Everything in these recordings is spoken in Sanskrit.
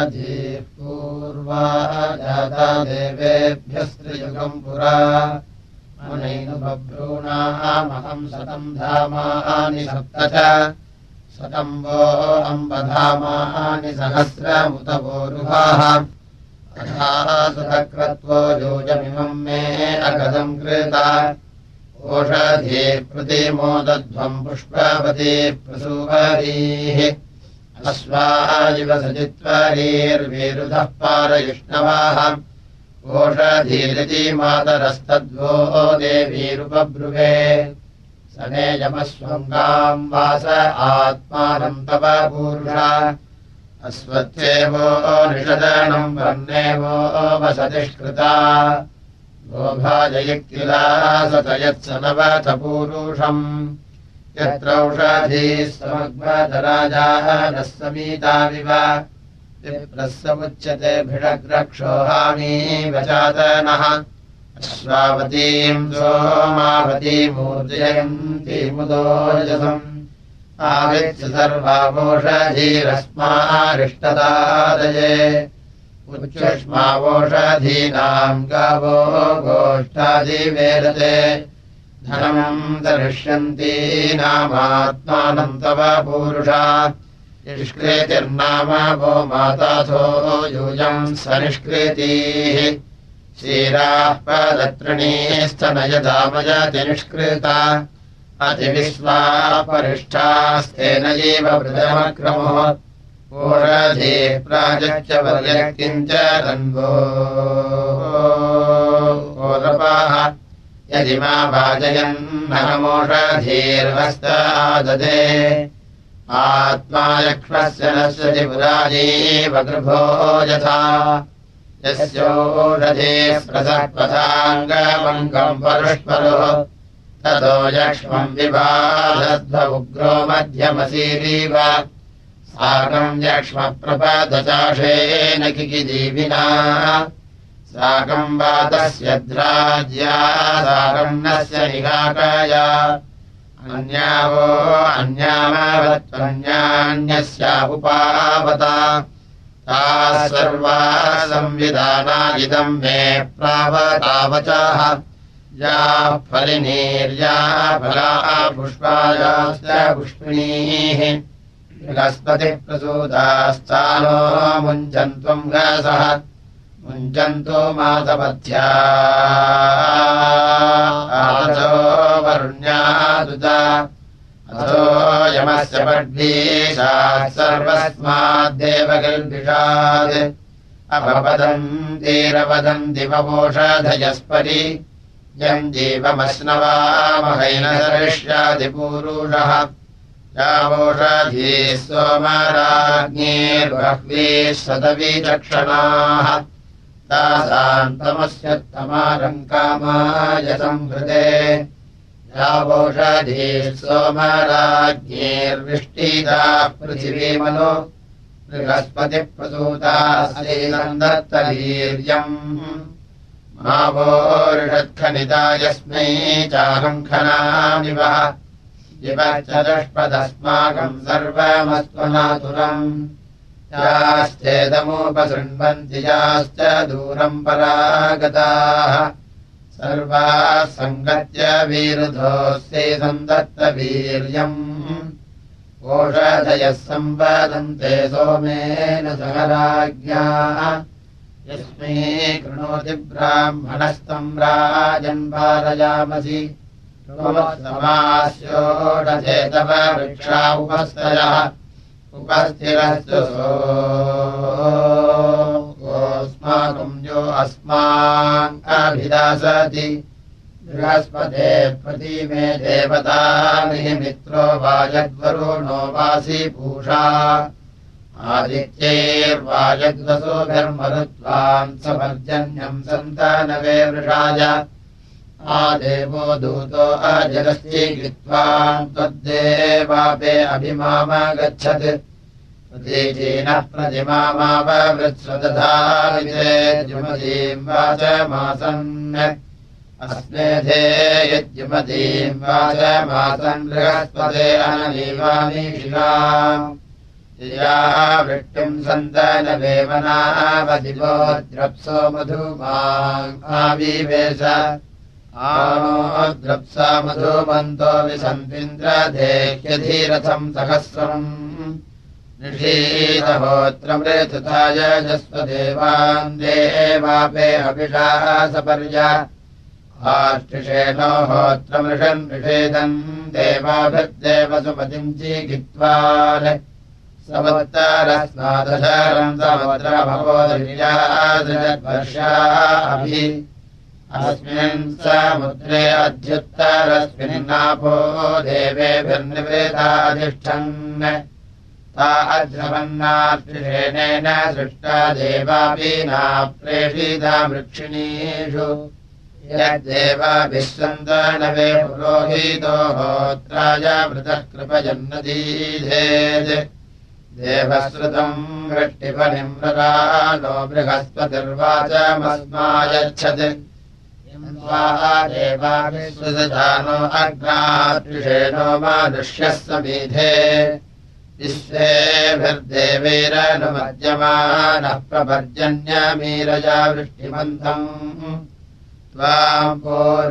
ओषधीः पूर्वा जाता देवेभ्यस्त्रियुगम् पुरा मुनैनुबभ्रूणामहम् 100 धामानि 7 च 100 वो अम्बधामानि 100मुतवोरुहाः सुखक्रत्वो योजमिमम् मे अगदम् कृता ओषधी प्रतिमोदध्वम् पुष्पवती प्रसूवरीः अश्वाजिव सजित्वरीर्वीरुधः पारयुष्णवाः ओषधीरिति मातरस्तद्वो देवीरुपब्रुवे सनेजमस्वङ्गाम् वास आत्मानम् तव पूरुषा अस्वत्थेवो निषदनम् वर्णेवो वसतिष्कृता गोभाजयिक्तिला सतयत्सनवथ पूरुषम् यत्रौषधीः समग्मदराजाः नः समीताविव विप्रः समुच्यते भिषग्रक्षोहामी वचातनः अश्वावतीम् सोमावतीमूर्जयन्तीमुदोजसम् आविच्य सर्वावोषधीरस्मारिष्टदादये उच्युष्मावोषधीनाम् गावो गोष्ठादिवेदते धनम् दरिष्यन्तीनामात्मानम् तव पूरुषा निष्कृतिर्नाम वो माताथो यूयम् सनिष्कृतिः क्षीराः पदत्रिणीस्तनयदामयति निष्कृता अतिविश्वापरिष्ठास्तेन एव वृदमक्रमो ओषधे प्राजच्च वर्यक्तिम् च तन्वो ओरपाः यदि मा वाजयन्नहमोषधीर्वस्ताददे आत्मा यक्ष्मस्य नश्यति पुराजीव गृभो यथा यस्योषधे प्रसत्पथाङ्गमङ्गम् परुष्परुः ततो यक्ष्मम् विबाधध्व उग्रो मध्यमसीरीव साकम् यक्ष्मप्रपदचाषेन किकिजीविना साकम् वातस्य द्राज्या साकम् नस्य निगाकाया अन्यावो अन्यामावत्वन्यान्यस्यापुपावता ताः सर्वा संविधाना इदम् मे प्रावतावचाः या फलिनीर्या फला पुष्पायाश्च पुष्पिणीः बृहस्पतिप्रसूतास्तानो मुञ्चन्त्वम् गासः मुञ्चन्तो मातपथ्या आदो वरुण्यादुता अथो यमस्य पड्वीषात् सर्वस्माद्देवकल्पिषात् अपपदन्तीरवदन्ति ववोषधयस्परि यम् जीवमश्नवामहैन सरिष्यादिपूरुषः यावोषधीः सोमराज्ञीर्बह्वीः शतवीचक्षणाः तासाम् तमस्योत्तमारम् कामाय संहृते यावोषधीः सोमराज्ञीर्विष्टिताः पृथिवीमनो बृहस्पतिप्रसूतास्तेन दत्तवीर्यम् मावोरिषत्खनिता यस्मै चाहम् खनामि वः जिवश्चतुष्पदस्माकम् सर्वमस्त्वनातुरम् याश्चेदमुपसृण्वन्ति याश्च दूरम् परागताः सर्वाः सङ्गत्य वीरुधोऽस्यै सन्दत्तवीर्यम् ओषधयः सम्पदन्ते सोमेन सह राज्ञा यस्मै कृणोति ब्राह्मणस्तम् राजन् पारयामसि समास्योषधे तव वृक्षा उपस्थयः उपस्थिरस्तु सोऽस्माकम् यो अस्मान् अभिदासति बृहस्पते प्रतीमे देवतानि मित्रो वाजद्वरुणो वासि पूषा आदित्यैर्वाजद्वसोभिर्मरुत्वान् समर्जन्यम् सन्तानवे वृषाय आदेवो दूतो अजगश्चीकृत्वान् त्वद्देवापे अभिमामागच्छत् प्रतीचीनः प्रतिमामाववृत्स्वदधाविते जुमतीम् वाचमासन् अस्मेधे यज्जुमतीम् वाचमासन् बृहस्पते अनवीवामि शिवाम् या वृष्टिम् सन्तनवेमनावदिवो द्रप्सो मधुमाविवेश आनो द्रप्सा मधुमन्तो विसन्विन्द्रधेह्यधीरथम् सहस्रम् निषीदहोत्रमृथुताय जस्वदेवान् देवापे हविषाः सपर्य आष्टिषेणो होत्रमृषन् निषेदन् देवाभिर्देवसुमतिम् चीकित्वान् समुत्तरस्मादशरम् समुद्रभवोदर्यादृजद्वर्षाभि अस्मिन् समुद्रे अध्युत्तरस्मिन्नापो देवेभिर्निवेदाधिष्ठन् ता अध्रवन्नार्तिषेणेन सृष्टा देवापीना प्रेषिता वृक्षिणीषु यद्देवाभिः सन्तनवे पुरोहितो होत्राय मृतः कृपजन्नदीधेत् देवश्रुतम् वृष्टिपनिम्ररानो बृहस्पतिर्वाचमस्मायच्छत् देवाभिः अग्नात्रिषेणो मानुष्यः समीधे विश्वेभिर्देवैरनुमज्यमानः प्रपर्जन्यमीरजा वृष्टिमन्तम् त्वाम्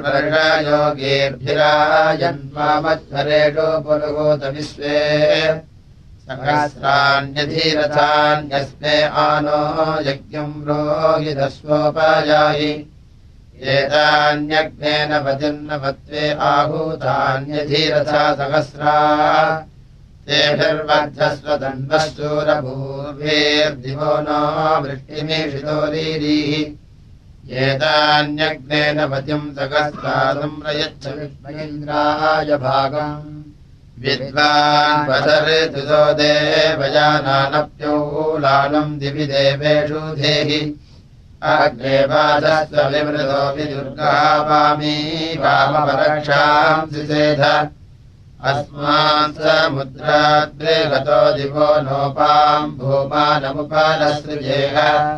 पूर्वर्षयोगीर्भिराजन्वामध्वरेषु पुरुहूत विश्वे सहस्राण्यधीरथान्यस्मे आनो यज्ञम् रोहितस्वोपयाहि एतान्यग्नेन पतिर्नवत्वे आहूतान्यधीरथा सहस्रा तेभिर्वद्धस्व तन्वशूरभूर्भिर्दिवो नो वृष्टिमीषितोरीः एतान्यग्नेन पतिम् सहस्रादम् प्रयच्छ विश्वेन्द्राय भागम् विद्वान् वदर्तुतो देवयानानप्यौलानम् दिवि देवेषु धेहि अग्ने वादस्व विमृतो विदुर्गावामी वामपरक्षाम् सिसेध अस्मान् समुद्राद्वे गतो दिवो नोपाम् भूमानमुपलसृजेह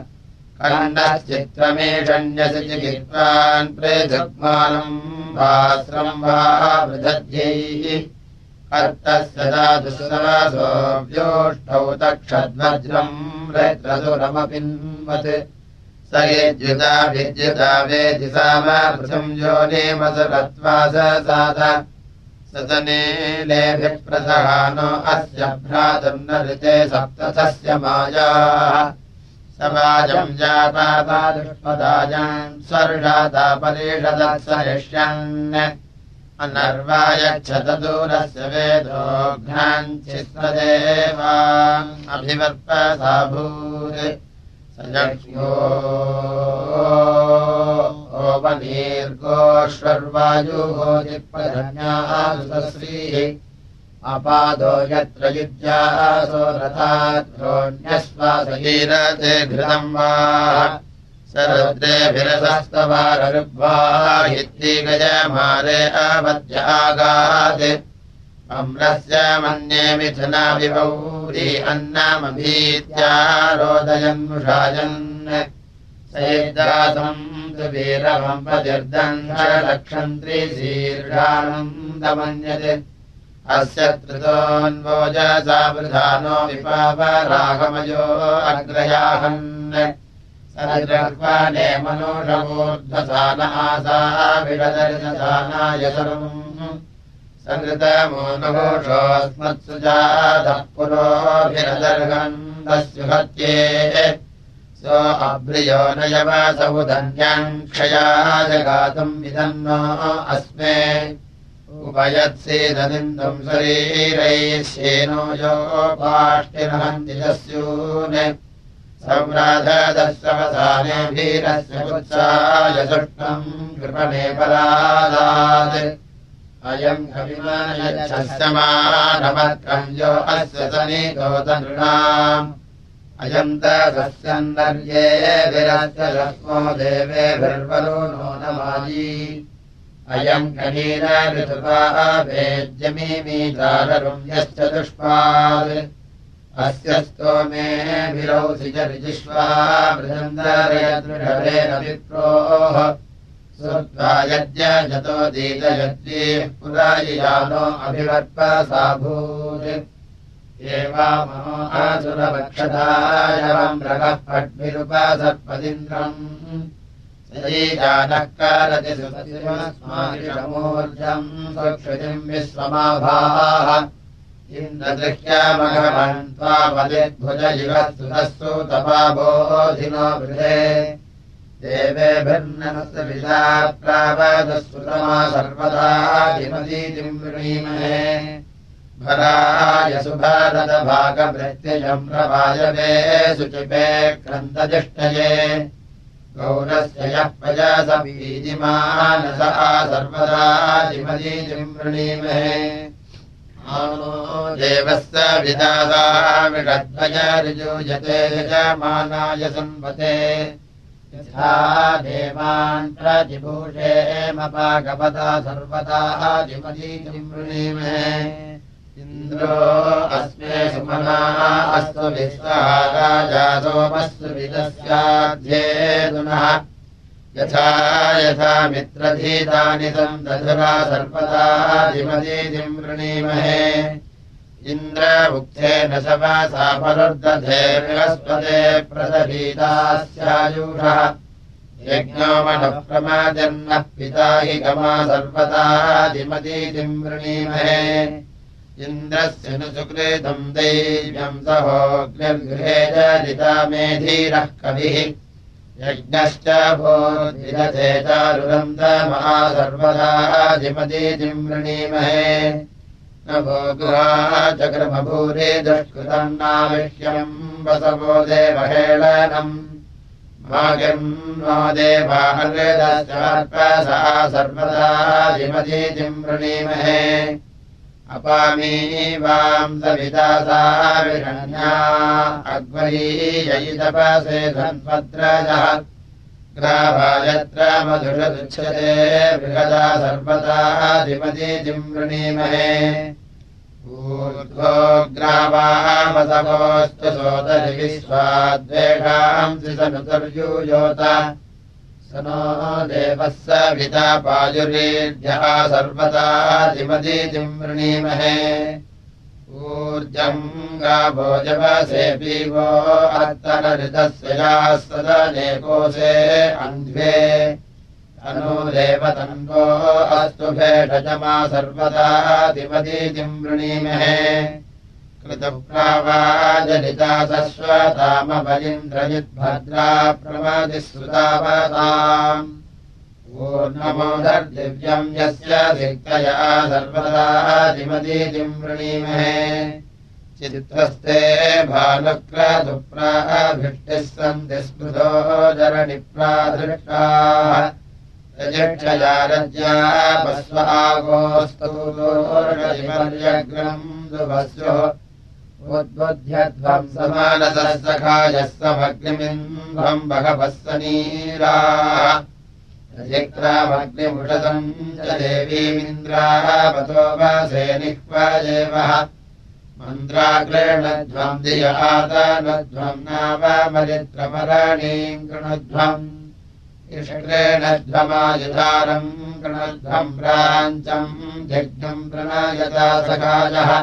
कण्डश्चित्रमेषण्यसि चिकित्वान् पृथग्मानम् वास्रम् वा वृधध्यैः कर्तस्य दातुसवसो व्योष्ठौ तक्षद्वज्रम् रैत्रसुरमपिन्वत् स यद्युता विद्युता वेदि सामपृथम् योनिमसुरत्वा ससाद सतनीलेभिः प्रसहानो अस्य भ्रातुर्नृते सप्तथस्य मायाः समाजम् जापापादुष्पदाजान् स्वर्षाता परिषदत्सरिष्यन् अनर्वायच्छतदूरस्य वेदोघ्नाञ्चित्तदेवा अभिवर्पसाभूत् सजक्ष्यो ओपनीर्गोष्वर्वायुगोदिप्रधन्यासुश्रीः अपादो यत्र युज्यासो रथाद्रोण्यश्वासगीरते घृतम् वा सरुद्रेभिरसस्तवाररुग्वाहित्तिगजमारे अवद्य आगात् अम्रस्य मन्ये मिथुना विभौरी अन्नमभीत्यारोदयन्मुषायन् सैर्दासम् तु वीरमम्बदिर्दङ्घलक्षन्त्रिशीर्षानन्दमन्यते अस्य त्रितोऽन्वोजसा वृधानो विपावरागमयो अग्रयाहन् सरिद्रह्वाने मनोषवोर्ध्वसान आसा विडदर्शसानाय सर्वम् सङ्गतमोनुघोषोऽस्मत्सुजातः पुरोभिरदर्गन्धस्युहत्ये सो अभ्रियो न यवसौधन्याम् क्षया जगातुम् विदन्नो अस्मे उपयत्सीदनिन्दुम् शरीरैः श्येनो यो पाष्टिर्हन्ति दस्यून् संराधदस्वसाने भीरस्य कुत्साय सुष्टम् कृपणे परादात् अयम् हविमानयच्छमानमत्रम् यो अस्य सनीतोतनृणाम् अयम् तस्यन्दर्येभिरस्य लक्ष्मो देवेभिर्वरुणो नमाजी अयम् कनीरऋतुपा भेद्यमीमीताररुम् यश्च दुष्पात् अस्य स्तोमेभिरौसिजरिजिष्वा मृदन्दरयदृढवेन विप्रोः श्रुत्वा यज्ञजतो दीतयद्वीः पुरायियानो अभिवर्पसाभूत् एवामो आसुरवक्षदायवम् रगः पट्विरुपसर्पदिन्द्रम् सजीजानः कारति सुमस्मादिषमूर्जम् सुक्षुतिम् विश्वमाभाः इन्द्रदृह्यामघवन् त्वापदिद्भुज इवः सुतः सुतपाबोधिनो वृधे देवेभिर्नमस्तविदा प्रावदस्सुतमा सर्वदा दिमदीतिम् वृणीमहे भराय सुभारतभागभृत्यजम् प्रवायवे शुचिपे क्रन्दजिष्टये गौरस्य यः प्रजासमीदिमानस सर्वदा दिमदीतिम् वृणीमहे आनो देवस्य विदासा विषद्वयऋजूयते यजमानाय संवते यथा देवान् प्रतिभूषेमपागपदा सर्वदा दिमदीतिम् वृणीमहे इन्द्रो अस्मे सुमनाः अस्तु विश्वः राजा सोमस्तु विदस्याध्येदुनः यथा यथा मित्रधीतानि सन्दधुरा सर्वदा दिमदीतिम् वृणीमहे इन्द्र उक्थेन सवासा परुर्दधे बृहस्पते प्रदभीतास्यायुषः यज्ञो मनः प्रमाजन्नः पिता हि गमा सर्वदा दिमदीतिम् वृणीमहे इन्द्रस्य नु सुकृतम् दैव्यम् सहोऽग्निर्गृहे जलिता मेधीरः कविः यज्ञश्च भोर्विदधे चारुरन्दमः सर्वदा दिमदीतिम् वृणीमहे न भोगुहा चक्रमभूरि दुष्कृतम् नाविष्यम् वसवो देवहेळनम् भागिर्नो देवाहृदश्चार्पसा सर्वदा दिमदीतिम् वृणीमहे अपामी वां सविदासा विषण्या अग्वरीययितपसे धन्वद्रजः ग्रावायत्र मधुषदुच्छते बृहदा सर्वदा दिमदीतिम् वृणीमहे ऊर्ध्वो ग्रावामसवोऽस्तु सोदरि विश्वाद्वेषांसि सनुतर्यूयोत स नो देवः सविता पायुरीर्यः सर्वदा दिमदीतिम् वृणीमहे ऊर्जम् गावो जवसे पीवो अत्तरऋतस्य याः सदनेकोऽसे अन्ध्वे तनो देवतन्वो अस्तु भेषजमा सर्वदा दिमदीतिम् वृणीमहे कृतप्रावाजलिता सश्वतामबलिन्द्रजिद्भद्रा प्रमदिः सुतावताम् ऊर्णमोदर्दिव्यम् यस्य दिक्तया सर्वदा दिमदीतिम् वृणीमहे चित्रस्ते भानुक्रतुप्राभिष्टिः सन्ति स्मृतो जरणिप्राधृष्टाः रजिक्षया रज्या पस्व आगोस्तूर्णिमर्यग्रम् दुभस्युः उद्बुध्यध्वम् समानसः सखायः समग्निमिन्ध्वम् बहवः सनीराः रजिक्रामग्निमुषतम् च देवीमिन्द्रावतो वासे निह्वजेवः मन्द्राग्रेणध्वम् दियहादानध्वम् नावमरित्रमरणीम् कृणध्वम् इष्क्रेणध्वमायुधारम् कृणध्वम् प्राञ्चम् जग्नम् प्रणयता सखायः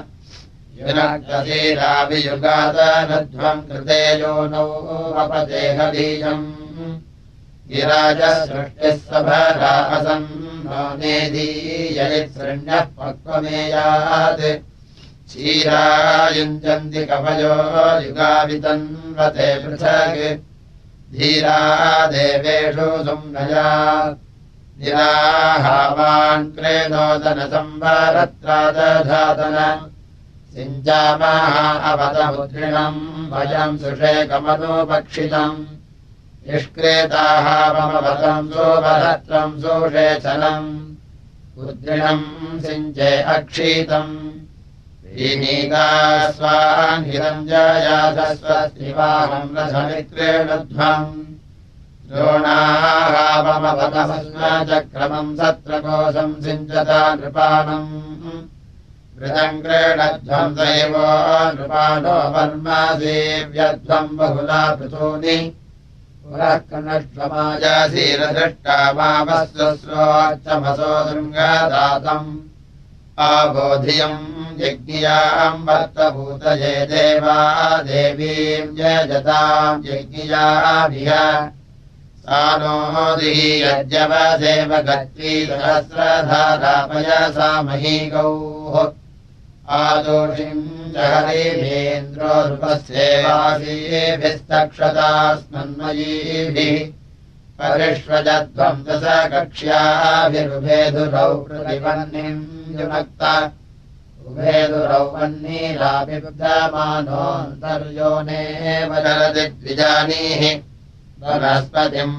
युनक्तशीलाभियुगादानध्वम् कृते योनौ अपदेहबीजम् गिराजः सृष्टिः सभरा असन्नो नेदीययित्सृण्यः पक्वमेयात् क्षीरायुञ्जन्ति कवयो युगावितन्वते पृथक् धीरा देवेषु सुम्नया निराहावान् क्रेदोदन संवरत्रादधातन सिञ्चामः अवतमुद्रिणम् भयम् सुषेकमनुपक्षितम् निष्क्रेताः ममवतम् सोपरत्रम् सोषेचनम् उद्रिणम् सिञ्चे अक्षीतम् ीनीकास्वान् हिरञ्जयाधस्वस्तिवाहम् रथमित्रेणध्वम् द्रोणाहावमवतमस्मचक्रमम् सत्रकोशम् सिञ्चता नृपाणम् वृतङ्क्रेणध्वम् दैवो नृपाणो वर्मासेव्यध्वम् बहुला पृथूनि पुरः कनष्वमाजासीरदृष्टा मावस्वस्वोच्चमसो दुर्गादातम् आबोधियम् यज्ञियाम् वर्तभूतये देवा देवीम् यजताम् यज्ञियाभिः सा नोदिः यज्ञवदेव गत्वी सहस्रधारापयसा महीगौः आदोषिम् जहरिमेन्द्रो नृपस्येवासीभिस्तक्षतास्मन्मयीभिः परिष्वजध्वम् दश कक्ष्याभिरुभेदुरौ प्रतिपन्निम् युनक्ता उभेदुरौ वह्निराभिबुद्धमानोऽन्तर्योनेव चरति द्विजानीः वनस्पतिम्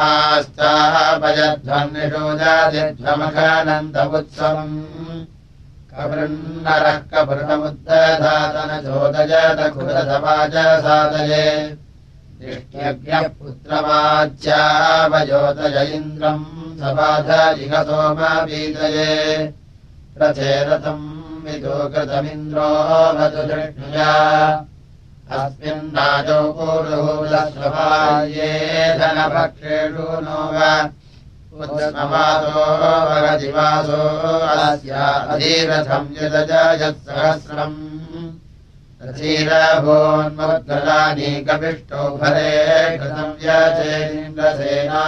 वनास्तापयध्वन्निषोजादिध्वमखानन्दमुत्सवम् कवृन्नरः कवृणमुद्धधातनचोदजतकुलसवाचसादये दृष्ट्यज्ञः पुत्रवाच्यावयोतय इन्द्रम् सबाधजिगसोमवीतये प्रचेरतम् विदो कृतमिन्द्रो वतु दृष्टुया अस्मिन्नाजौ पूर्वभूतस्वभाये धनभक्षेषु नो वा उद्स्मवासो वगदिवासो अस्या अधीरथम् यदजयत्सहस्रम् रथीरभोन्मद्गलानि कपिष्टो भरे कृतम् यचेन्द्रसेना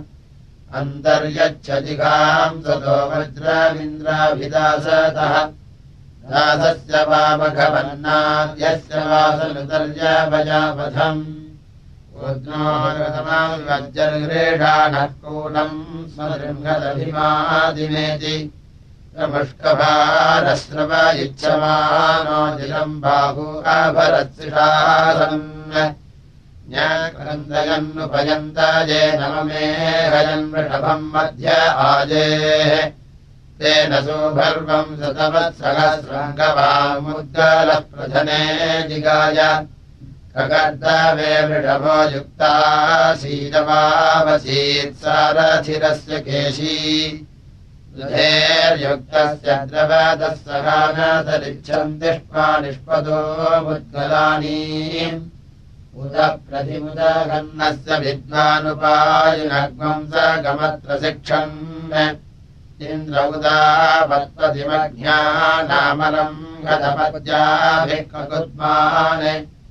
अन्तर्यच्छदिघाम् सतो वज्रमिन्द्राभिदासतः दासस्य वामघवन्नाद्यस्य वासनुतर्यभजापथम् उद्नोरतमाविवज्जर्ग्रेषाणः कूलम् स्मदृङ्गदभिमादिमेति प्रमुष्कभारस्रव इच्छमानो जिलम् बाहु अभरत्सिषासम् न्यक्रन्दयन्नुपयन्ताये नममे हयन् वृषभम् मध्य आजेः तेन सुभर्वम् शतवत्सहस्रङ्गवामुद्गलः प्रधने जिगाय ककर्दवे वृषभो युक्तासीदवावसीत्सारथिरस्य केशी दुधेर्युक्तस्य द्रवदः सहानतरिच्छन्दिष्मा निष्पदो मुद्गलानि उद प्रतिमुदघन्नस्य विद्वानुपायुनग्मम् स गमत्र शिक्षन् इन्द्र उदापत्पतिमज्ञानामलम् गतपद्याभिः ककुद्मान्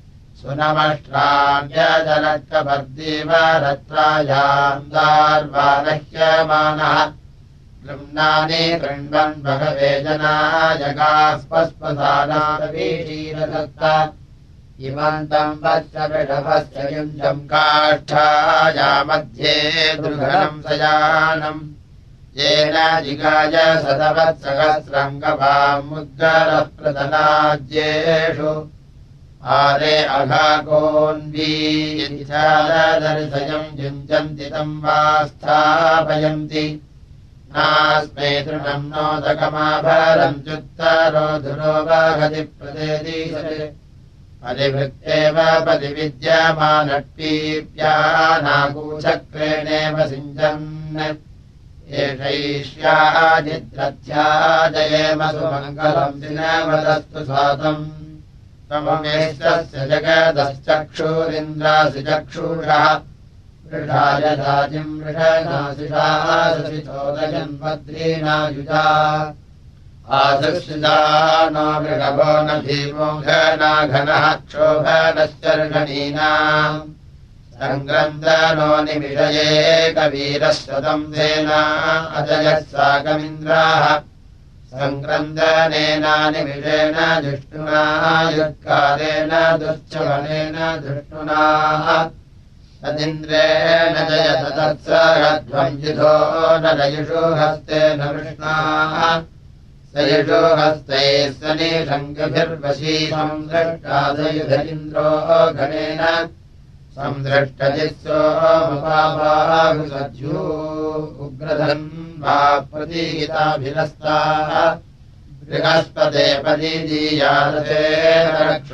सुनमष्ट्राण्यजनकवर्दीव रत्रायाम् दार्वानह्यमानः गृह्णानि कृण्वन् भगवे जनायगास्पस्पसानावीशीरदत्त इमन्तम् वत्स वृषभस्य युञ्जम् काष्ठायामध्ये दुर्घनम् सयानम् येन जिगाय शतवत्सहस्रङ्गवामुद्गलः प्रतनाज्येषु आरे अघाकोन्वीयम् युञ्जन्ति तम् वा स्थापयन्ति नास्मे तृणम् नोदकमाभरम् च्युत्तरो धुरो वाहति प्रदेदीशते परिवृत्तेव परिविद्यमानट्टीप्यानाकूचक्रेणेव सिञ्चन् एषैष्याजिद्रथ्याजयेम सुमङ्गलम् दिनवदस्तु सातम् त्वममेष्टस्य जगदश्चक्षुरिन्द्रासि चक्षुषः वृषायदाजिम् वृषणासिषासिचोदयन्वद्रीणायुजा आसुषिता नो वृषभो न भीमो घनाघनः क्षोभनश्चर्षणीनाम् सङ्ग्रन्दनो निमिषये कवीरः शतम् सेना अजयः साकमिन्द्राः सङ्ग्रन्दनेनानिमिषेण जिष्णुना युत्कालेन दुश्चवनेन धृष्णुनाः तदिन्द्रेण जयत तत्सहध्वम् युधो न लयुषु हस्तेन वृष्णाः स युषु हस्तैः सनिषङ्गभिर्वशी संदृष्टादयुध इन्द्रो गणेन संदृष्टजित्सोमुपाबाहुसज्जू उग्रधन् वा प्रतीहिताभिरस्ताः बृहस्पते पदीदीयारथेन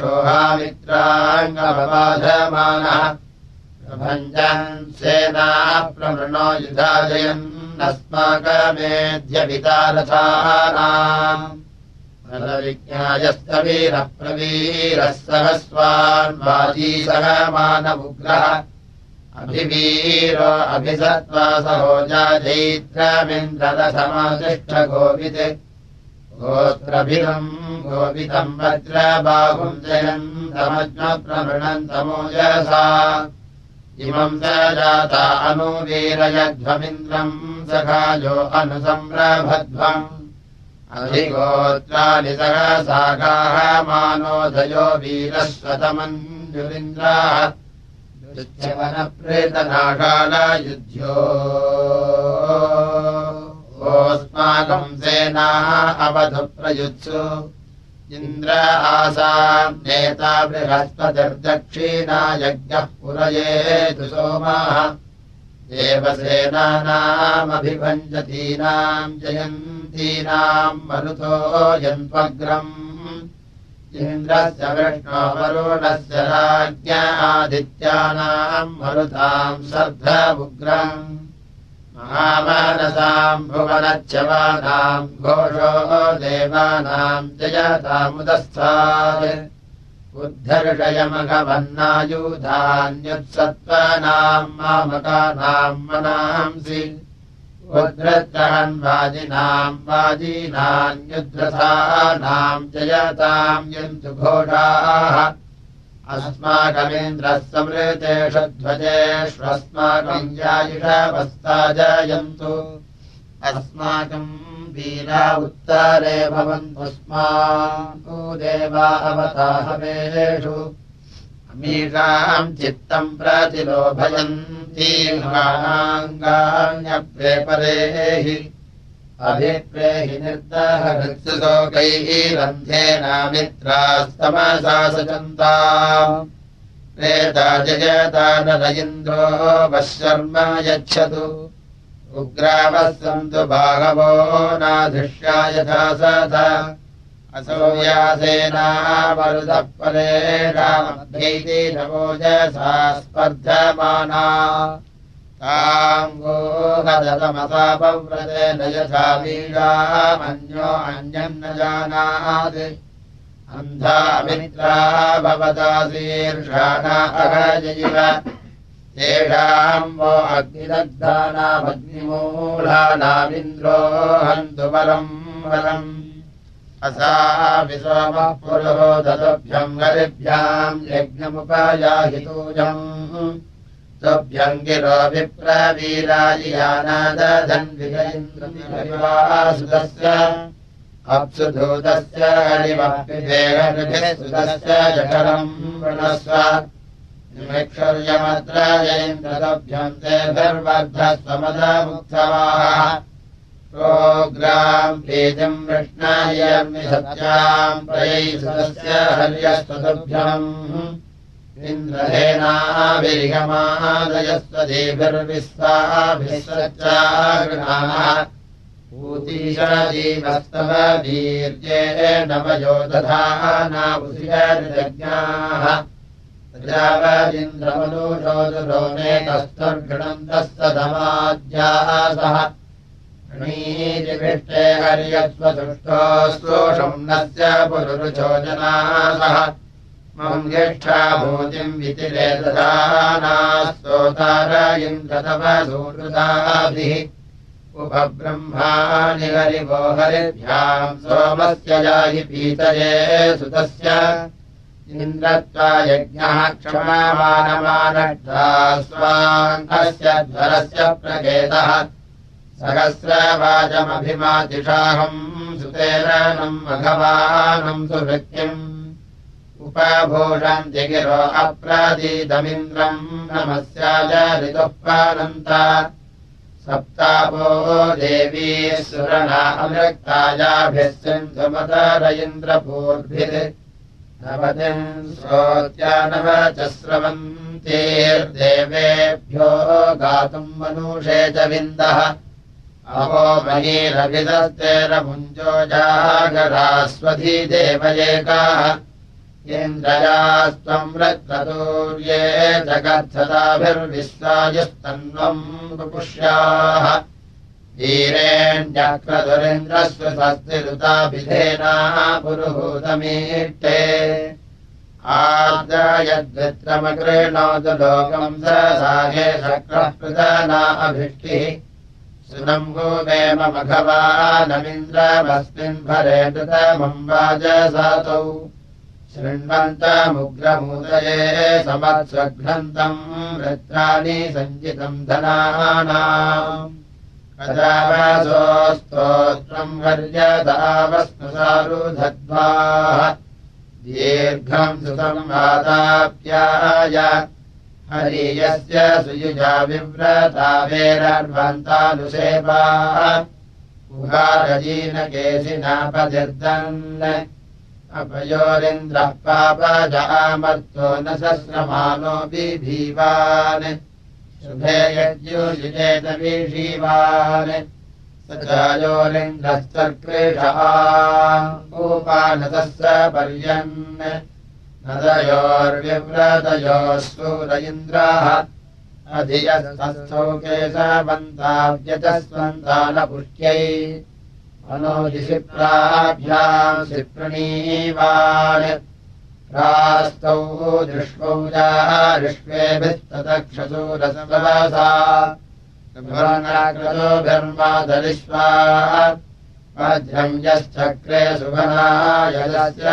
रक्षोहामित्राङ्गमबाधमानः प्रभञ्जन् सेनाः प्रमृणो युधाजयन्नस्माकमेध्यपितारथानाम् फलविज्ञायस्तवीरः प्रवीरः सहस्वान् वाजी सह मानवुग्रः अभिवीरो अभिसत्त्वा सहोजा जैत्रमिन्द्रदशमातिष्ठ गोवित् गोत्रभिदम् गोवितम् वज्रबाहुम् जयन्तमज्ञप्रमृणन्तमोजसा इमम् स जाता अनुवीरयध्वमिन्द्रम् सखायो अनुसम्रभध्वम् अधिगोत्राणि सहसागाः मानोदयो वीरस्वतमञ्जुरिन्द्राः दुश्चवनप्रेतनाशालयुध्यो ओस्माकम् सेनाः अवधु प्रयुत्सु इन्द्र आसाम् नेता बृहस्पतिर्दक्षिणा यज्ञः पुरयेतु सोमाः देवसेनानामभिभञ्जतीनाम् जयन्तीनाम् मरुतो यन्त्वग्रम् इन्द्रस्य विष्णो वरुणस्य राज्ञ आदित्यानाम् मरुताम् सर्धमुग्रम् महामानसाम् भुवनच्छवानाम् घोषो देवानाम् जयतामुदस्थात् उद्धर्षयमघवन्नायुधान्युत्सत्त्वानाम् मामकानाम् मनांसि उद्धृत्रहन्वाजिनाम् वाजीनान्युद्धसानाम् जयताम् यन्तु घोषाः अस्माकमिन्द्रः समृतेषु ध्वजेष्वस्माकम् यायुषवस्ता जयन्तु अस्माकम् वीरा उत्तरे भवन्तुस्माकु देवा अवताहवेषु अमीषाम् चित्तम् प्रतिलोभयन्तीर्हाणाङ्गान्यप्रेपरेहि अभिप्रेहि निर्दहृत्सुशोकैरन्ध्येनामित्रास्तमसा सचन्ता प्रेता जयता नर इन्द्रो वः शर्म यच्छतु उग्रावः सन्तु बाहवो नाधिष्या यथा सदा असो व्यासेना मरुतः परेणामध्यैति नवोजसा स्पर्धमाना ताङ्गो हदतमसापव्रतेन यथा वीरामन्यो अन्यम् न जानात् अन्धा मित्रा भवतासीर्षाणा अहजयिव तेषाम् वो अग्निदग्धानामग्निमूलानामिन्द्रो हन्तु वरम् वरम् असा विसोमः पुरोदतुभ्यम् हरिभ्याम् यज्ञमुपयाहितूजम् तुभ्यम् गिरो विप्रवीराजियानादधन्विजयिन्द्रमिवासुतस्य अप्सुधूतस्य हरिवः पिबेहनिभिः सुतस्य जठरम् वृणस्व निमिक्षर्यमत्र जयिन्द्रतुभ्यम् तेभिर्वर्धस्वमदमुत्सवाः प्रोग्राम् प्रीतिम् वृष्णायर्मि सत्याम् प्रयैसुतस्य हर्यस्तुभ्यम् इन्द्रहेनाभिर्गमादयस्वदेभिर्विश्वाभिः सच्चागृणाः ऊतीशजीवस्तव वीर्येण वयो दधानावुषियज्ञाः प्रजावदिन्द्रमनुषोदुरो नेतस्तुर्घृणन्तः सदमाद्यासः णीरिविष्टे हर्यस्वसुष्टोऽस्तोषम् नस्य पुरुरुचो जनासः मम् ज्येष्ठाभूतिम् वितिरे दधानास्तोतार इन्द्रतव सूरुदाभिः उपब्रह्माणि हरिवो हरिभ्याम् सोमस्य याहि पीतये सुतस्य इन्द्रत्वा यज्ञः क्षमामानमानड्ढा स्वाङ्गस्य ध्वरस्य प्रकेतः सहस्रवाचमभिमातिषाहम् सुतेरणम् मघवानम् सुभृत्यम् उपभूषन्ति गिरो अप्रदीदमिन्द्रम् नमस्याय ऋतुःपानन्ता सप्तापो देवी सुरणा अमृक्तायाभिः सिन्धुमतर इन्द्रपूर्भिः नवतिम् श्रोत्यानव च स्रवन्तीर्देवेभ्यो गातुम् मनुषे च विन्दः अहो महीरभिदस्तेरमुञ्जो जागरास्वधी देवयेकाः इन्द्रयास्त्वम् रक्ततूर्ये जगत्सदाभिर्विश्वायुस्तन्वम् पुपुष्याः वीरेण्यक्रतुरिन्द्रस्व स्वस्तिरुताभिधेनाः पुरुहूतमीष्टे आर्द्रयद्वित्रमकृणोतु लोकम् स साहे शक्रः पृतना अभिष्टिः सुनम्भूमेम मघवानमिन्द्रमस्मिन् भरे नृतमम् वाजसातौ शृण्वन्तमुग्रमूदये समत्स्वघ्नन्तम् वृत्राणि सञ्चितम् धनानाम् कदावासोस्तोत्रम् वर्यदावस्नुसारुधद्वाः दीर्घम् सुसंवादाप्याय हरियस्य सुयुजा विव्रता वेरर्वन्तानुसेवा उहारजीनकेशिनापतिर्दन् अपयोरिन्द्रः पापजामर्तो न सस्रमानो बिभीवान् शुभे यज्ञुषिचेत विषीवान् स चायोरिन्द्रस्तर्कृषः उपानतस्य पर्यन् नदयोर्विव्रतयोः सूर इन्द्राः अधियस्तस्थौ केशवन्ताव्यजस्वन्तानपुष्ट्यै मनोदिशि प्राभ्याम् शिप्रणीवान् प्रास्तौ दृष्वौ जारिष्वेभिस्ततक्षसूरसवसा भ्रमणाकृतोभिर्मादलिष्वा वज्रम् यश्चक्रे सुभनायस्य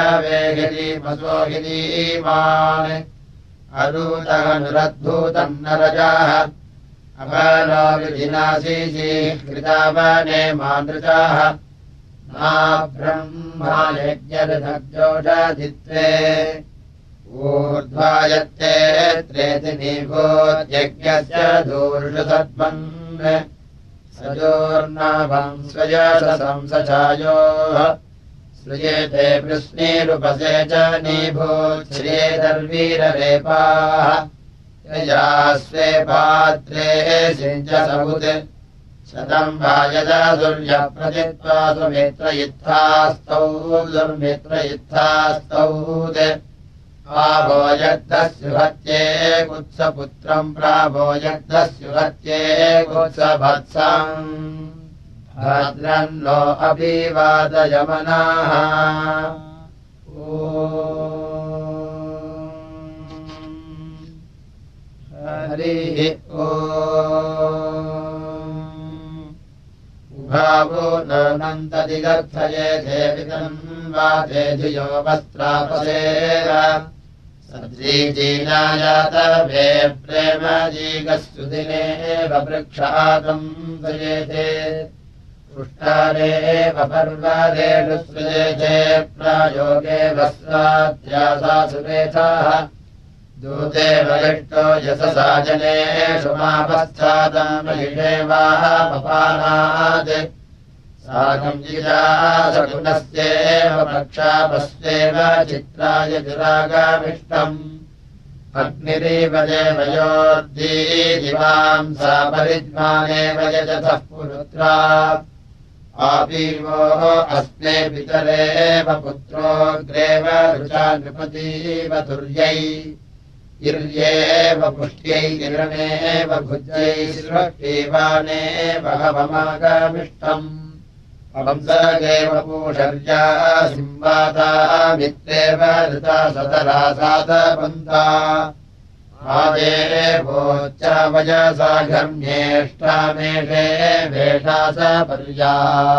वेगिरीमसोगिरीमान् अरूतनुरद्भूतम् नरजाः अपनो विधिनाशीशीकृतावने मानृजाः मा ब्रह्मा यज्ञरथजोषधित्वे ऊर्ध्वायत्ते त्रेति निभूत्यज्ञस्य दूर्षसद्मन् सजोर्नाभम् स्वयशंसचायोः श्रूयेते वृष्णीरुपसे च निभूच्छ्रियेदर्वीररेपाः यया स्वे पात्रे सिञ्च समुत् शतम् वायदा दुर्यप्रतित्वा सुमित्रयुत्थास्तौ दुर्मित्रयुत्थास्तौ प्रावोयग्धस्युहत्ये कुत्सपुत्रम् प्रावोयग्धस्युहत्ये कुत्सभत्सम् भद्रन्नो अभिवादयमनाः हरिः उभावो नन्तदिगर्थये देवितम् वाते धियो वस्त्रापसेव सद्रीजीनायातवे प्रेमजीगस्सुदिनेव वृक्षातम् सयेते पुष्टारेव पर्वदेषु सृजेते प्रायोगे वस्त्राध्यासासुरेथाः दूते वलिष्टो यशसा जनेषु मापस्थातमहिषेवापपानात् साकम् जिजा सकुनस्येव प्रक्षापस्येव चित्राय दुरागामिष्टम् अग्निरिव देवयोर्दीदिवाम् सा परिज्ञानेव यजतः पुरुत्रा आपीवोः अस्मे पितरेव पुत्रोऽग्रेव ऋचा नृपतीव तुर्यै इर्येव पुष्ट्यै किरणेव भुज्यै सृष्टिवानेव हवमागमिष्टम् वंसगेव पूषर्या सिंवाता मित्रेव ऋता सतरा सातपन्ता आदेवोच्च वयसा घर्म्येष्टामेषे वेषा स पर्या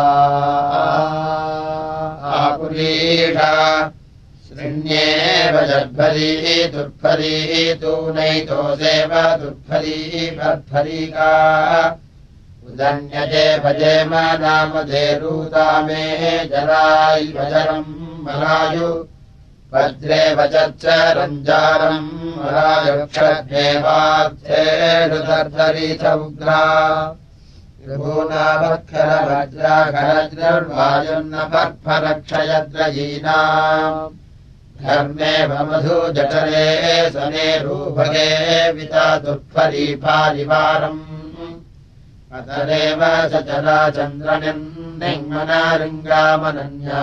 आपुरीषा शृण्येव जर्भरी दुर्भरी तूनैतोसेव दुर्भरी भर्भरीका उदन्यजे भजेम नामधेरूतामे जराय्वजरम् मलायु वज्रे वचच्च रञ्जारम् मलायुक्षज्ञेवार्थेषु उग्रा ऋभूनावत्खरवज्राखरज्रर्वायुन्न पर्फरक्षयद्रयीनाम् धर्मेव मधुजठरे सनेरूभगे विता दुर्फरीफारिवारम् अतरेव सचरा चन्द्रनिर्निङ्मनारिङ्गामनन्या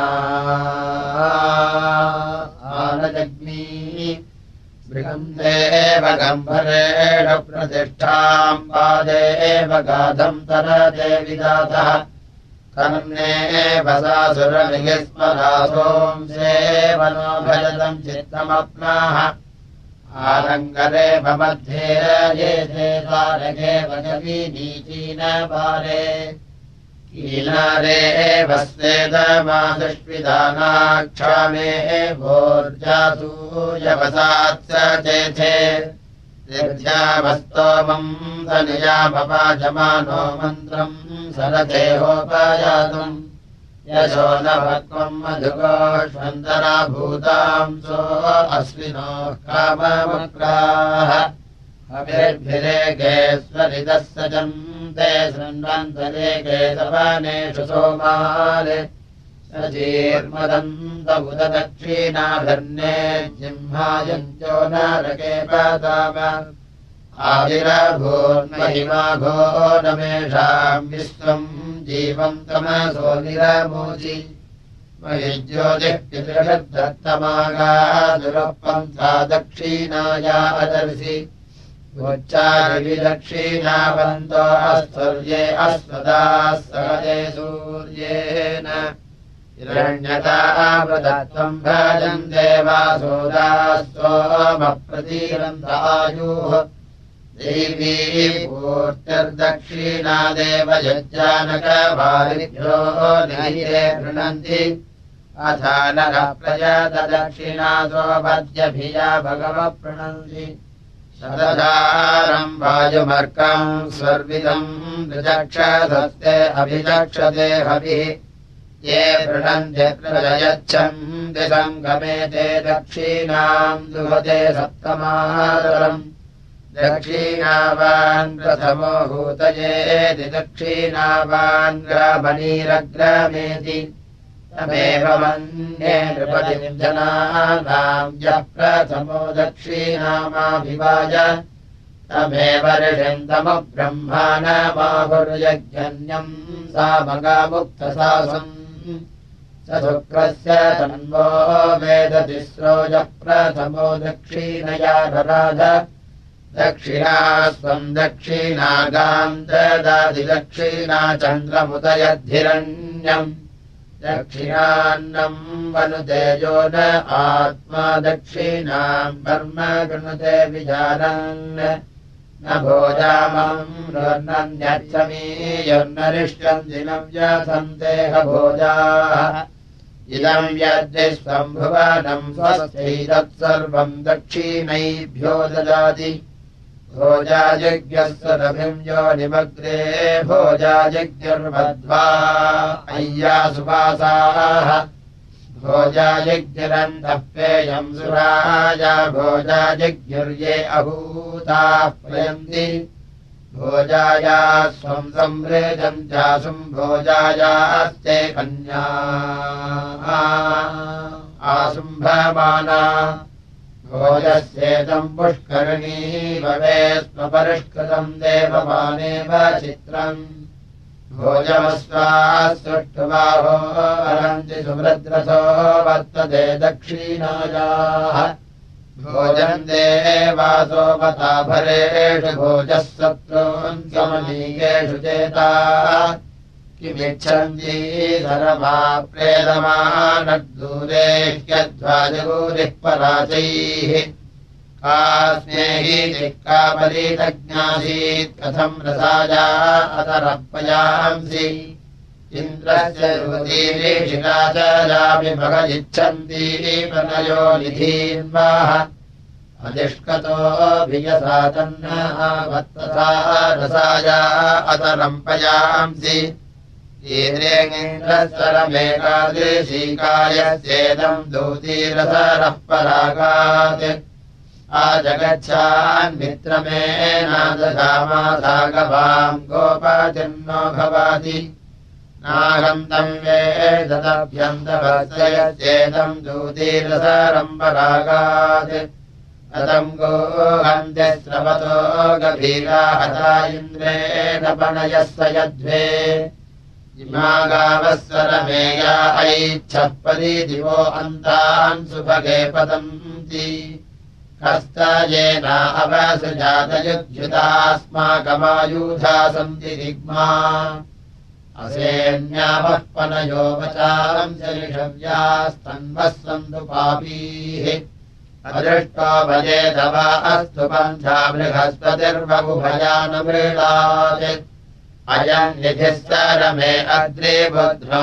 आनजग्नी बृहन्देव गम्भरेण प्रतिष्ठाम् पादेव गाधम् तरते विदातः कर्णेव सासुरमिहिस्मरासोंसेव नो भजतम् चित्तमप्नाः आलङ्करे मध्ये ये द्वारके वजवीनीचीनपारे कीनारे वस्तेदमादुष्विधानाक्षामे भोर्जासूयवसात्स चेथे निर्ध्यावस्तोमम् सनियामपाजमानो मन्त्रम् सरथेहोपयातुम् यशो न भक्त्वम् मधुकोष्वन्तरा भूतांसो अश्विनो कामवक्राः अभिर्भिरेकेश्वरिदः सजन्ते शृण्वन्तरेके सवनेषु सोमाले सजीर्मदन्तबुधदक्षिणाभिर्ने जिह्मायन्त्यो नरके पताम आविरभून्महिमाघो नमेषाम् विश्वम् जीवम् तमसो निरमोचि महि ज्योतिः पितृषद्धत्तमागादुरपन्था दक्षिणाया अदर्शि उच्चारिविदक्षिणावन्तो अस्तुर्ये अस्मदाः सहते सूर्येण हिरण्यतावृतत्वम् भजन्ते वासोदास्तोमप्रतीरन्तायुः देवी पूर्तिर्दक्षिणादेव यज्जानकवारिभ्यो नैरे गृह्णन्ति अथा नरः प्रयतदक्षिणासो वद्यभिया भगवप्रणन्ति शतधारम् वायुमर्कम् स्वर्विदम् ऋचक्षसस्ते अभिचक्षते हविः ये पृणन्ते प्रयच्छन्ति सङ्गमेते दक्षिणाम् दुहते सप्तमातरम् दक्षिणावान् प्रथमो हूतयेति दक्षिणावान् ग्रामणीरग्रामेति तमेव मन्ये नृपतिम् जनानाम् यः प्रथमो दक्षिणामाभिवाय तमेव ऋषिम् तमब्रह्माणमाहुर्यज्ञन्यम् सामगामुक्तसासम् स शुक्रस्य तन्वो वेदतिस्रोजः प्रथमो दक्षिणया रराध दक्षिणास्त्वम् दक्षिणागाम् ददाति दक्षिणा चन्द्रमुदयद्धिरण्यम् दक्षिणान्नम् वनुतेजो न आत्मा दक्षिणाम् कर्म गृणुते विजानन् न भोजामम् नन्यर्थमीयन्नरिष्टम् दिनम् व्यथन्तेह भोजाः इदम् यद्विश्वम् भुवनम् स्वस्यैतत्सर्वम् दक्षिणैभ्यो ददाति भोजायज्ञस्य रभिम् योनिमग्रे भोजायज्ञर्मध्वा अय्यासुवासाः भोजायज्ञरन्तः पेयम् सुराया भोजायज्ञर्ये अहूताः प्रयन्ति भोजाया स्वम् संवृजम् चासुम् भोजायास्ते कन्या आसुम्भमाना भोजस्येतम् पुष्करिणी भवे स्वपरिष्कृतम् देवमानेव चित्रम् भोजमस्वाः सुष्ठुबाहो हरन्ति सुभद्रसो वर्तते दक्षिणायाः भोजन्ते वासोपताभरेषु भोजः शत्रून् समनीयेषु चेताः किमिच्छन्ति धर्मा प्रेदमानद्दूरे ह्यध्वाजगूरिः पराचैः कास्मेहि चिक्कापरीतज्ञासीत् कथम् रसाया अतरः पयांसि इन्द्रस्य युवतीरीषिका च यापि भगजिच्छन्ति प्रणयो निधीन्वाः अधिष्कतोऽभियसा तन्न वत्तसा रसाया अतरम् पयांसि ईन्द्रेन्द्रस्वरमेकादृशीकायस्येदम् दूतीरसरः परागात् आजगच्छान्मित्रमेनादधामासागवाम् गोपतिर्नो भवाति नाहम् तम् वेदभ्यन्तभर्तयस्येदम् दूतीरसरम् परागात् अतम् गोहन्ते स्रवतो गभीरा हता इन्द्रेण पणयः स यध्वे इमा गावस्वरमेया ऐच्छः परिदिवो अन्तान् सुभगे पतन्ति हस्तयेना अवसृजातयुज्युतास्माकमायूधा सन्ति दिग्मा असेन्यावः पनयो वचारम् च ऋषव्यास्तन्वः सन्तु पापीः अदृष्टो भजेत वा अस्तु पन्था बृहस्पतिर्बहुभयानुमृळात् अयम् निधिः सरमे अग्रे बुध्नो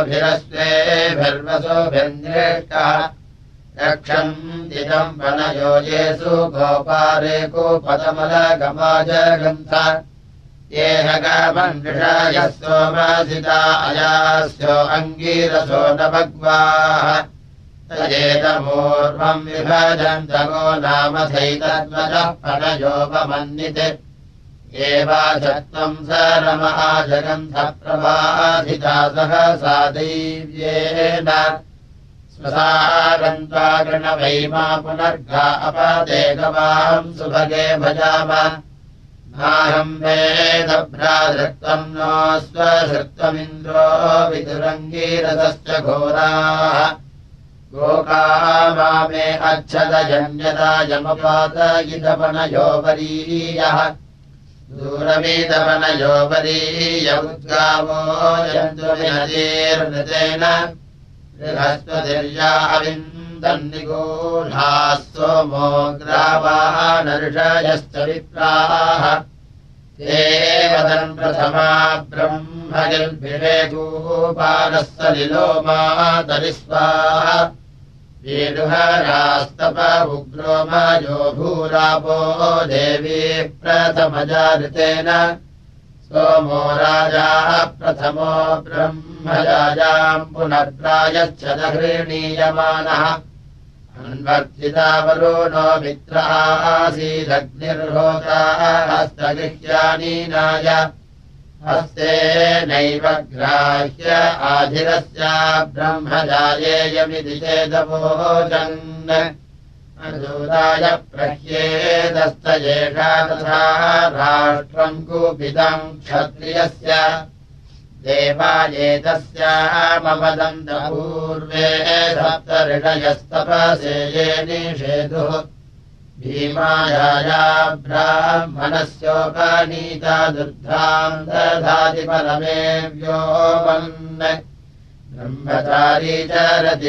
गोभिरस्वेभिर्वसुभिर्निष्टः रक्षन्तिदम् वनयो येषु गोपारे कूपतमलगमाजगन्थ ये हगमन्विषायः सोमासिता अयास्यो अङ्गीरसो न भग्वाः तयेदपूर्वम् विभजन्तगो नाम सैतद्वजः पनयोपमन्निते एवाचत्वम् सरमहाजगन्धप्रभाधिता सहसा दैव्येन स्वसारन्त्वा गृणवैमा पुनर्गा अपदेगवाहम् सुभगे भजाम नाहम् वेदभ्राधृत्वम् नो स्वधृत्वमिन्द्रो विदुरङ्गीरसश्च घोराः गोकामामे अच्छदजन्यदायमपातयितपनयोपरीयः दूरवीतपनयोपरीय उद्गावो यन्तु विनदीर्नृतेन बृहस्पतिर्या अविन्दन्निगूढाः सोमो ग्रावाः नर्षयश्च विप्राः ते वदन् प्रथमा ब्रह्मगिर्भिषेकूपालः सलिलो मातरिस्वाः वीरुहरास्तप उग्रो मयो भूरापो देवी प्रथमजाऋतेन सोमो राजा प्रथमो ब्रह्मजायाम् पुनर्प्रायश्च दहृणीयमानः अन्वर्तितावरुणो मित्र आसीदग्निर्होता हस्तगृह्यानीनाय हस्ते नैव ग्राह्य आधिरस्य ब्रह्मजायेयमिति चेदवोचन् अजूदाय प्रह्येदस्तयेषा तथा राष्ट्रम् कूपितम् क्षत्रियस्य देवायेतस्यामवदन्तपूर्वे सप्त ऋषयस्तपसे ये निषेधुः भीमायाया ब्राह्मणस्योपनीता दुर्धाम् दधाति परमे व्योमन् ब्रह्मचारी चरति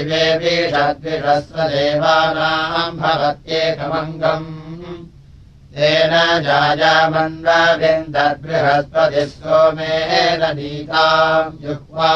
वेविषद्विषस्वदेवानाम् भवत्येकमङ्गम् तेन जायामन्वविन्दर्बृहस्पतिः सोमेन नीताम् जुह्वा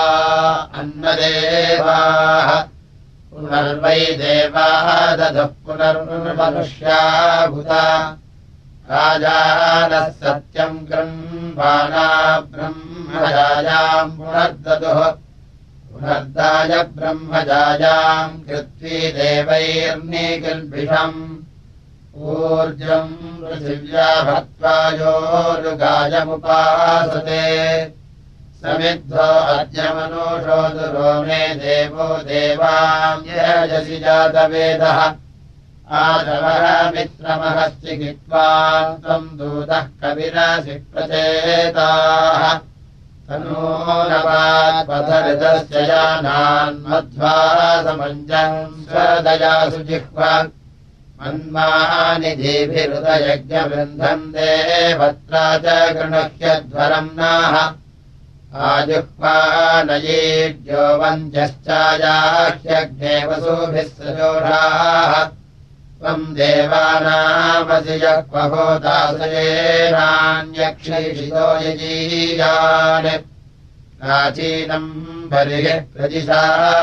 अन्नदेवाः पुनर्वै देवाः दधः पुनर्मनुष्या भूता राजानः सत्यम् गृह्वाणा ब्रह्मजायाम् पुनर्ददुः पुनर्दाय ब्रह्मजायाम् कृत्वी देवैर्निकिल्बिषम् ऊर्जम् पृथिव्या भक्त्वायोरुगायमुपासते समिद्धो अद्य मनुषो दुरो मे देवो देवाम् यजसि जातवेदः आदवः मित्रमहश्चिकित्वा त्वम् दूतः कविरसि प्रचेताः तनो नवात्पथऋतस्य जानान्मध्वा समञ्जम् स्वदयासु जिह्वा मन्मानिधिभिरुदयज्ञवृन्धम् देवत्रा च गृणह्यध्वरम् नाः आजुह्वानयेभ्यो वन्ध्यश्चायाह्यग्ने वसुभिः सजोषाः त्वम् देवानामसि यः क्वहोदासयेनान्यक्षैषितो यजीयान् प्राचीनम् बलिः प्रदिशा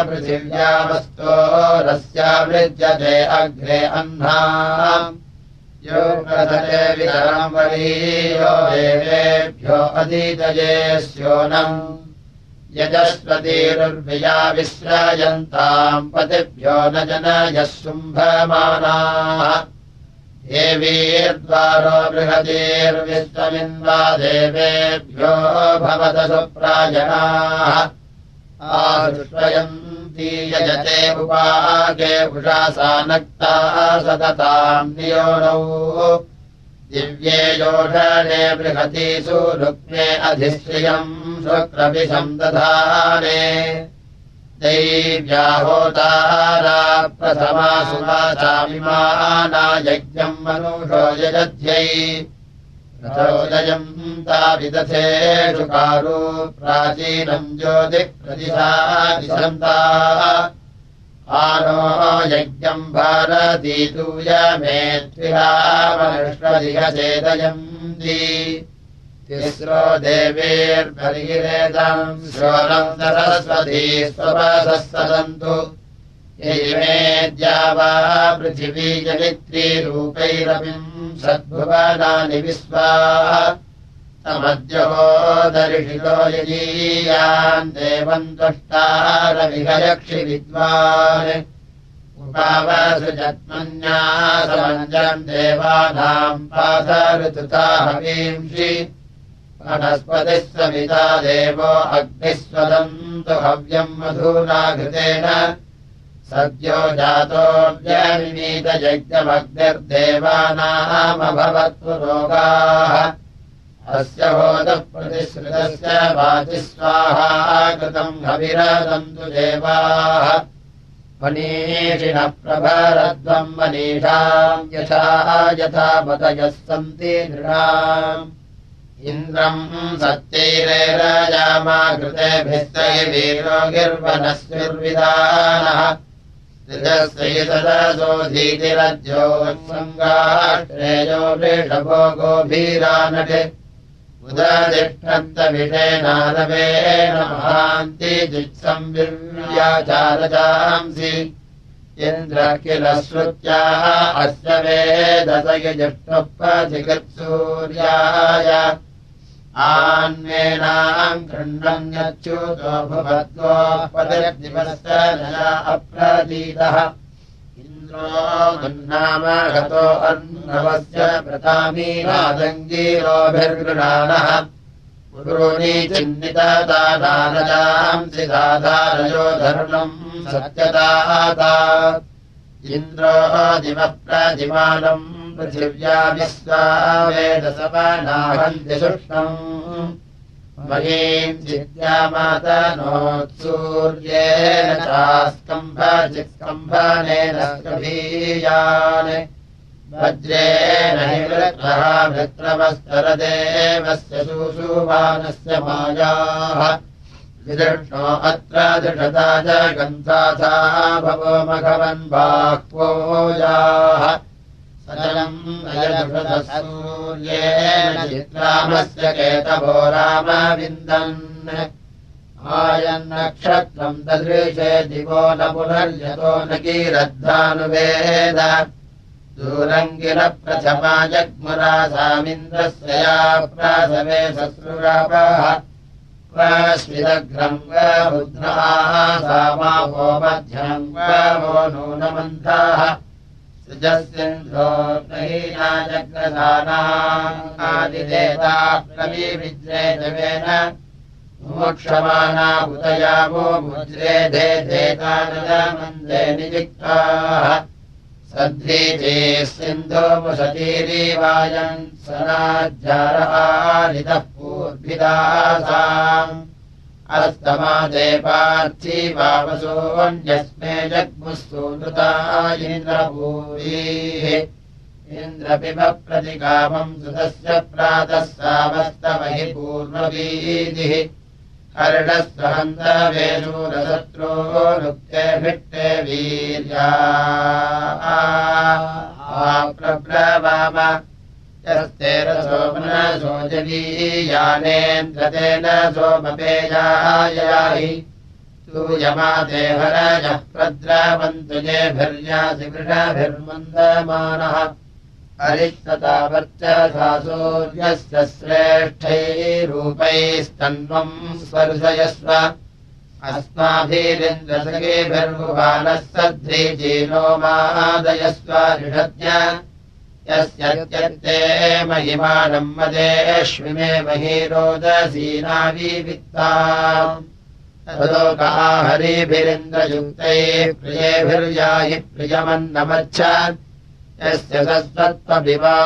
पृथिव्यामस्तोरस्यावृज्यते अग्रे अह्नाम् यो प्रथते वितरम् वरीयो देवेभ्यो अधीतये स्योनम् यजस्वतीरुर्विया विश्रयन्ताम् पतिभ्यो न जनयः शुम्भमानाः देवीर्द्वारो बृहतीर्विश्वमिन्वा देवेभ्यो भवत सुप्रायणाः आदृष्टयन्ती यजते उपागे उषासा नक्ताः सतताम् नियोनौ दिव्ये योषणे बृहतीषु रुक्मे अधिश्रियम् शुक्रभिषम् दधाने दैव्याहोतारा प्रथमा सुवाचामिमाना यज्ञम् मनुषो यजध्यै रथोदयम् ताविदथेषु कारू प्राचीनम् ज्योतिः प्रदिशा दिशन्ता आनो यज्ञम् भारतीतूयमेत्विरामनुष्वधिगचेदयन्ति तिस्रो देवीर्भर्गिरेदम् श्रोणम् सरस्वती स्वपासः सदन्तु यैमेद्या वा पृथिवी जनित्रीरूपैरपिम् सद्भुवनानि विश्वा तमद्योदर्शिलो यजीयान् देवम् त्वष्टारविहयक्षि विद्वान् उपावसृजत्मन्यासमञ्जम् देवानाम् पादऋतुताहवींषि वनस्पतिः सविता देवो अग्निः स्वदन्तु हव्यम् मधुना घृतेन सद्यो जातोऽव्यनिमीतयज्ञमग्निर्देवानामभवत्पुरोगाः अस्य होतः प्रतिश्रुतस्य वाचि स्वाहा कृतम् हविरदन्तु देवाः मनीषिणः प्रभरध्वम् मनीषाम् यथा पतयः सन्ति नृणाम् इन्द्रम् सत्यैरेरजामा कृतेभिस्तैवीरो गिर्वनस्युर्विधानः त्रिजस्यैतदसोऽधीतिरज्योत्सङ्गाश्रेयो वृषभो गोभीरानटे उदतिष्ठन्तविषेणानवेन महान्ति जित्संविर्याचारजांसि इन्द्र किल श्रुत्याः अस्य वेदस यजिष्ठोपचिकित्सूर्याय आन्वेनाम् गृह्णन्यच्युतो भवद्गोपतिर्दिवस्य नया अप्रतीतः इन्द्रो दुन्नामगतो अर्णवस्य प्रतामीनादङ्गीरोभिर्गृणानः पुरूणि चिन्नितदानारजांसि दाधारयो धर्मम् सत्यदाता इन्द्रो दिवः प्रतिमानम् पृथिव्या विश्वा वेदसवनाहन्ति सुष्णम् महीम् जिद्यामातनोत्सूर्येण चास्कम्भचित्कम्भनेन स्कभीयान् वज्रेण हि वृत्रः वृत्रवस्तरदेवस्य सुषुवानस्य मायाः विदृष्णो अत्र दृढता च गन्धाथा भवो मघवन् बाह्वोजाः सजलम् अयदृषदसूर्येण चित्रामस्य केतवो रामविन्दन् आयन्नक्षत्रम् ददृशे दिवो न पुनर्यतो न कीरद्धानुवेद दूरम् किल प्रथमा जग्मुरासामिन्द्रस्य या प्रासवे सस्रुरापः स्विदग्रम् रुद्राः सामावो मध्यम् वो नूनमन्थाः सृजस्यन्द्रो नहीना जग्रसानादिदेता प्रविविज्रेदवेन मोक्षमाना उदयावो मुज्रेधे धेतानदमन्दे निजिक्ताः सद्रीचेः सिन्धो मुसतीरीवायन् सनाज्जारहारितः पूर्भिदासाम् अस्तमादे पार्थिवावसोऽन्यस्मे जग्मुः सूनुता इन्द्रभूरिः इन्द्रपिब प्रतिकामम् सुतस्य प्रातः सावस्तमहि पूर्ववीदिः हर्षस्वहन्तवेशूरशत्रो नुक्ते भिट्टे वीर्या प्रब्रवाम यस्ते रसोमनसो जवीयानेन्द्रतेन सोमपेयायाहि सूयमाते हरजः प्रद्रावन्तु जेभिर्यासि वृषभिर्मन्दमानः अरिष्टता वर्चसा सूर्यस्य श्रेष्ठैरूपैस्तन्वम् स्पर्शयस्व अस्माभिरिन्द्रसखेभिर्भुवानः सध्रीजीनो मादयस्व ऋषज्ञ यस्यत्यर्थे महिमानम् मदेष्विमे महीरोदसीनाविवित्ताम् तदोकाहरिभिरिन्द्रयुक्तैः प्रियेभिर्याहि प्रियमन्नमच्छ यस्य सत्त्वविवा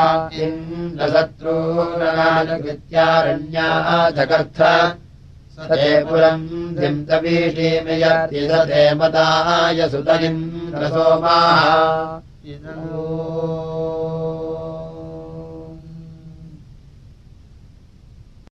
इन्द्रशत्रूनानुकृत्यारण्याः चकर्थ स ते पुरम् धिम्तवीषीमियर्ति स ते मदाय सुतनिम् रसोमाः